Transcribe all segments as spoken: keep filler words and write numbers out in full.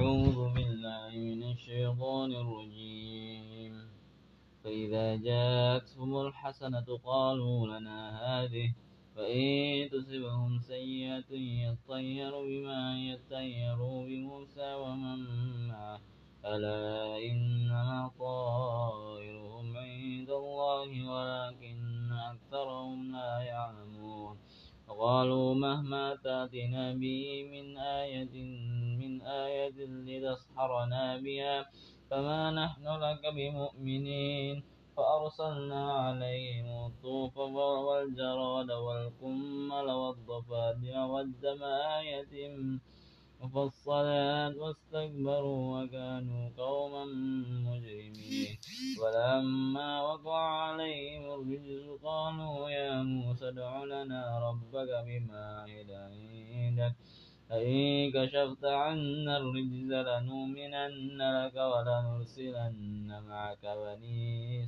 أعوذ بالله من الشيطان الرجيم فإذا جاءتهم الحسنة قالوا لنا هذه فإن تصبهم سيئة يطيروا بما يطيروا بموسى ومن معه ألا إنما طائرهم عند الله ولكن أكثرهم لا يعلمون وقالوا مهما تأتنا به من آية من آية لتسحرنا بها فما نحن لك بمؤمنين فأرسلنا عليهم الطوفان والجراد والقمل والضفادع والدم آيات مفصلات واستكبروا وكانوا قوما مجرمين ولما وقع عليهم الرجز قالوا يا موسى ادع لنا ربك بما عهد عندك لئن كشفت عنا الرجز لنؤمنن لك ولنرسلن معك بني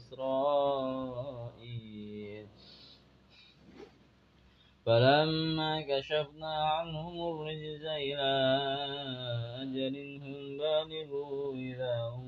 إسرائيل فلما كشفنا عنهم الرجز إلى أجل هم بالغوه إذا هم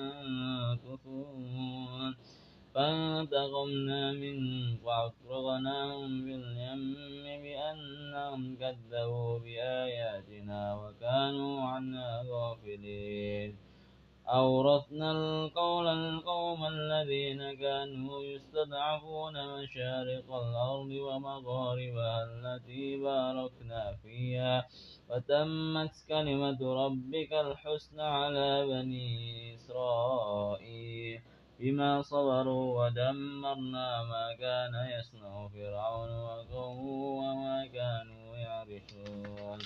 ينكثون فانتقمنا منهم فأغرقناهم في اليم بأنهم كذبوا بآياتنا وكانوا عنها غافلين أورثنا القول القوم الذين كانوا يستضعفون مشارق الأرض ومغاربها التي باركنا فيها وتمت كلمة ربك الحسنى على بني إسرائيل بما صبروا ودمرنا ما كان يصنع فرعون وقومه وما كانوا يعرشون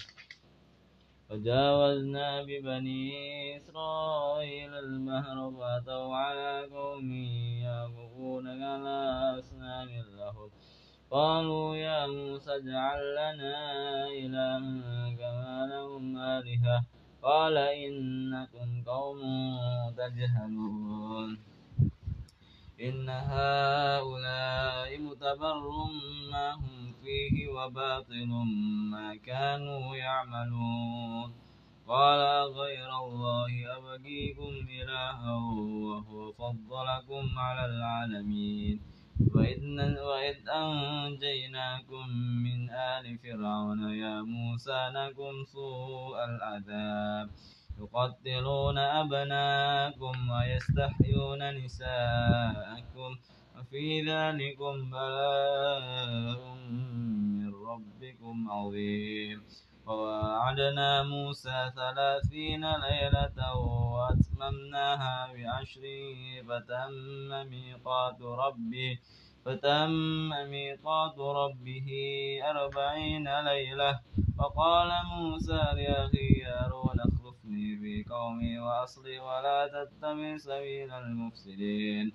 وجاوزنا ببني إسرائيل البحر فأتوا على قوم يعكفون على أصنام لهم قالوا يا موسى اجعل لنا إلها كما لهم آلهة قال إنكم قوم تجهلون إن هؤلاء متبر ما هم فيه وباطل ما كانوا يعملون قال غير الله أبغيكم إلها وهو فضلكم على العالمين وإذ أنجيناكم من آل فرعون يا موسى لكم سوء العذاب يقتلون أبناءكم ويستحيون نساءكم وفي ذلكم بلاء من ربكم عظيم ووعدنا موسى ثلاثين ليلة وأتممناها بعشر فتم ميقات ربه فتم ميقات ربه أربعين ليلة وقال موسى لأخيه هارون اخلفني في قومي وأصلي ولا تتبع سبيل المفسدين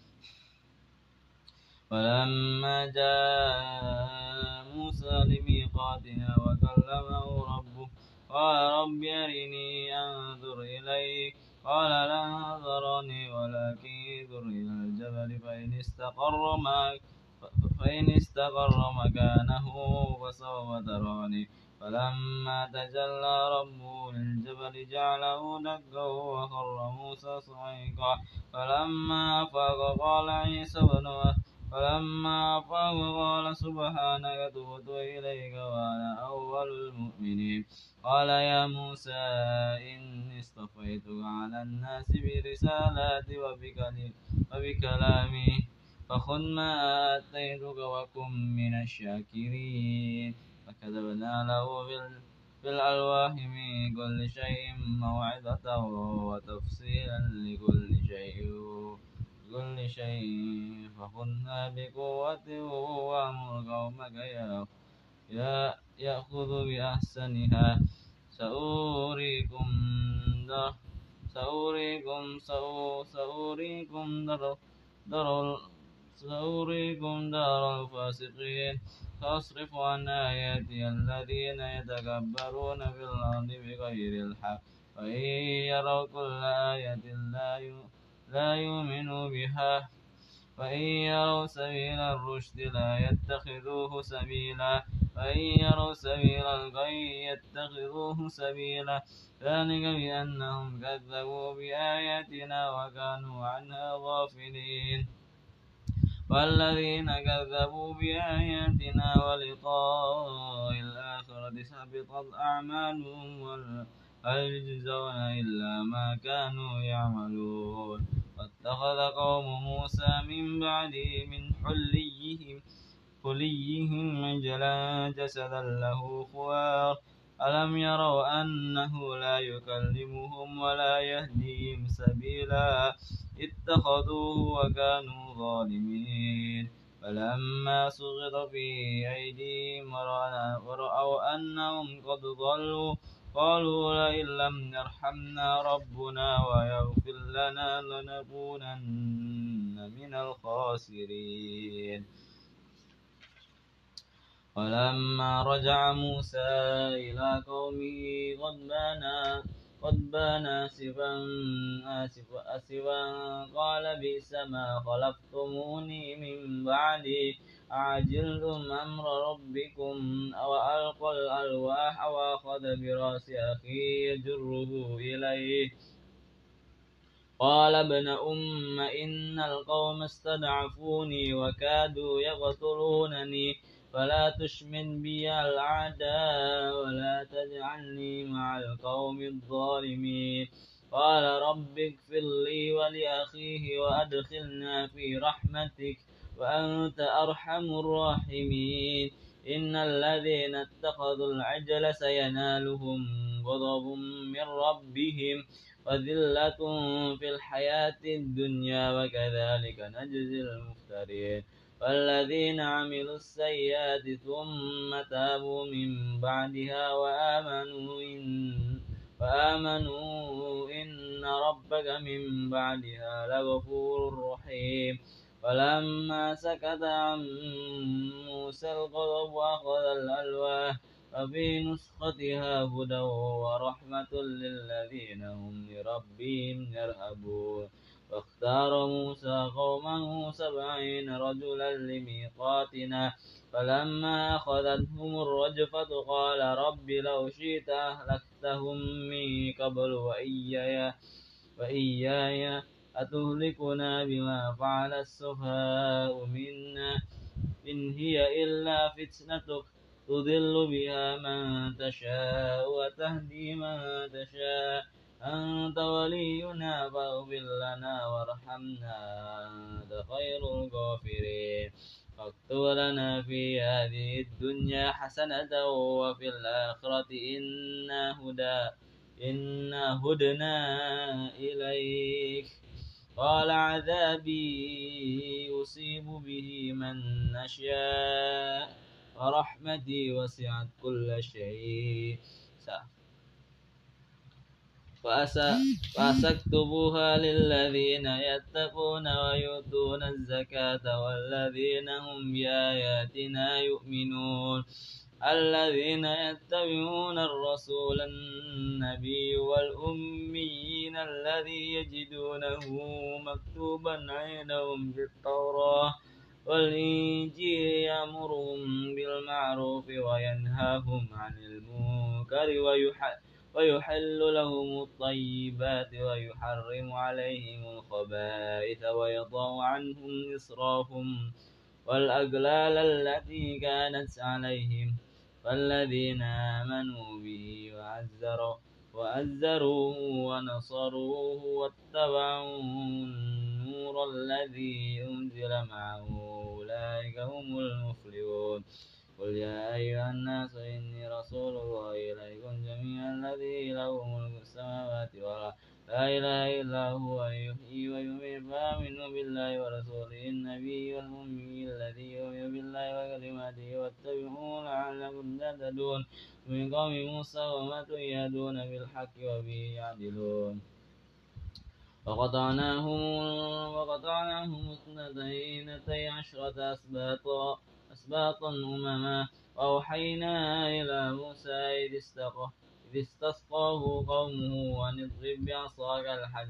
ولما جاء موسى لميقاتنا وكلمه ربه قال رب أرني أنظر إليك قال لا تراني ولكن انظر إلى الجبل فإن استقر فإن استقر مكانه فسوف تراني فلما تجلى ربه للجبل جعله دكا وخر موسى صعيقا فلما أفاق قال عيسى بن فلما أفاق قال سبحانك تبت إليك وأنا أول المؤمنين قال يا موسى إني اصطفيتك على الناس برسالاتي وبكلامي فخذ ما آتيتك وكن من الشاكرين فكتبنا له في الألواح من كل شيء موعظة وتفصيلا لكل شيء كل شيء فخذها بقوة وأمر قومك يا يأخذ بأحسنها سأريكم در سأريكم سأريكم در در سأريكم دار الفاسقين سأصرف عن آياتي الذين يتكبرون في الأرض بغير الحق وإن يروا كل آية لا يؤمنوا بها وإن يروا سبيل الرشد لا يتخذوه سبيلا فإن يروا سبيل الغي يتخذوه سبيلا ذلك بأنهم كذبوا بآياتنا وكانوا عنها غافلين والذين كذبوا بآياتنا ولقاء الآخرة حبطت أعمالهم وهل يجزون إلا ما كانوا يعملون واتخذ قوم موسى من بعده من حليهم حليهم عجلا جسدا له خوار ألم يروا أنه لا يكلمهم ولا يهديهم سبيلا اتخذوه وكانوا ظالمين فلما سقط في أيديهم ورأوا أنهم قد ضلوا قالوا لئن لم يرحمنا ربنا ويغفر لنا لنكونن من الخاسرين ولما رجع موسى إلى قومه غضبان غضبان آسفا آسفا آسفا قال بئس ما خلفتموني من بعدي أعجلتم أمر ربكم وألقى الألواح وأخذ برأس أخيه يجره إليه قال ابن أم إن القوم استضعفوني وكادوا يقتلونني فلا تشمت بي الأعداء ولا تجعلني مع القوم الظالمين قال رب اغفر لي ولأخيه وأدخلنا في رحمتك وأنت أرحم الراحمين إن الذين اتخذوا العجل سينالهم غضب من ربهم وذلة في الحياة الدنيا وكذلك نجزي المفترين والذين عملوا السيئات ثم تابوا من بعدها وآمنوا إن وآمنوا إن ربك من بعدها لغفور رحيم ولما سكت عن موسى الغضب أخذ الألواح وفي نسختها هدى ورحمة للذين هم لربهم يرهبون واختار موسى قومه سبعين رجلا لميقاتنا فلما أخذتهم الرجفة قال رب لو شئت أهلكتهم من قبل وإياي وإياي أتهلكنا بما فعل السفهاء منا إن هي إلا فتنتك تضل بها من تشاء وتهدي من تشاء أنت ولينا فاغفر لنا وارحمنا أنت خير الغافرين واكتب لنا في هذه الدنيا حسنة وفي الآخرة إنا هدى إنا هدنا إليك قال عذابي أصيب به من نشاء ورحمتي وسعت كل شيء فأسكتبوها للذين يتقون ويؤتون الزكاة والذين هم بآياتنا يؤمنون الذين يتبعون الرسول النبي والأميين الذي يجدونه مكتوبا عندهم في التوراة والإنجيل يأمرهم بالمعروف وينهاهم عن المنكر ويحل ويحل لهم الطيبات ويحرم عليهم الخبائث ويضع عنهم إصرافهم والأغلال التي كانت عليهم فالذين آمنوا به وعزروا وأزروه ونصروه واتبعوا النور الذي أنزل معه أولئك هم المفلحون قل يا أيها الناس إني رسول الله إليكم جميعا الذي له ملك السماوات والأرض لا إله إلا هو يحيي ويميت فآمنوا بالله ورسوله النبي والأمي الذي يؤمن بالله وكلماته واتبعوه لعلكم تهتدون من قوم موسى وما يهدون بالحق وبه يعدلون وقطعناهم وقطعناهم اثنتي عشرة أسباطا أسباطا أمما وأوحينا إلى موسى إذ استسقاه قومه أن اضرب بعصاك الحجر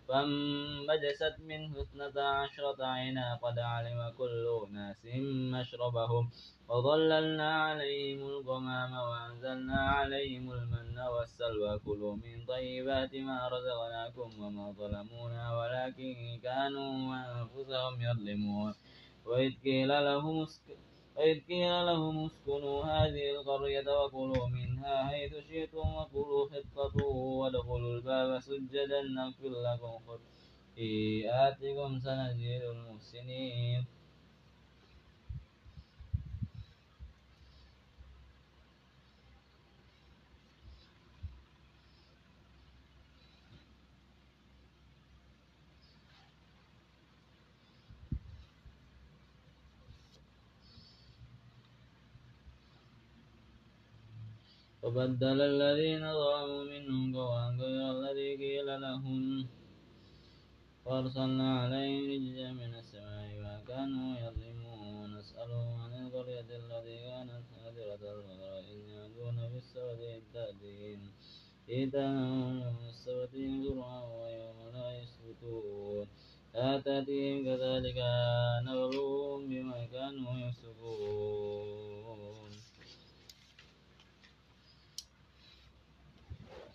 فانبجست منه اثنتا عشرة عينا قد علم كل أناس مشربهم وظللنا عليهم الغمام وأنزلنا عليهم المن والسلوى كلوا من طيبات ما رزقناكم وما ظلمونا ولكن كانوا أنفسهم يظلمون وإذ قيل لهم وإذ قيل لهم اسكنوا هذه القرية وكلوا منها حيث شئتم وقولوا حطة وادخلوا الباب سجدا نغفر لكم خطيئاتكم سنزيد المحسنين فبدل الذين ظلموا منهم قولا غير الذي قيل لهم فأرسلنا عليهم رجزا من السماء ما كانوا يظلمون نسألهم عن القرية التي كانت حاضرة البحر إذ يعدون في السبت إذ تأتيهم حيتانهم يوم السبت شرعا ويوم لا يسبتون لا تأتيهم كذلك نبلوهم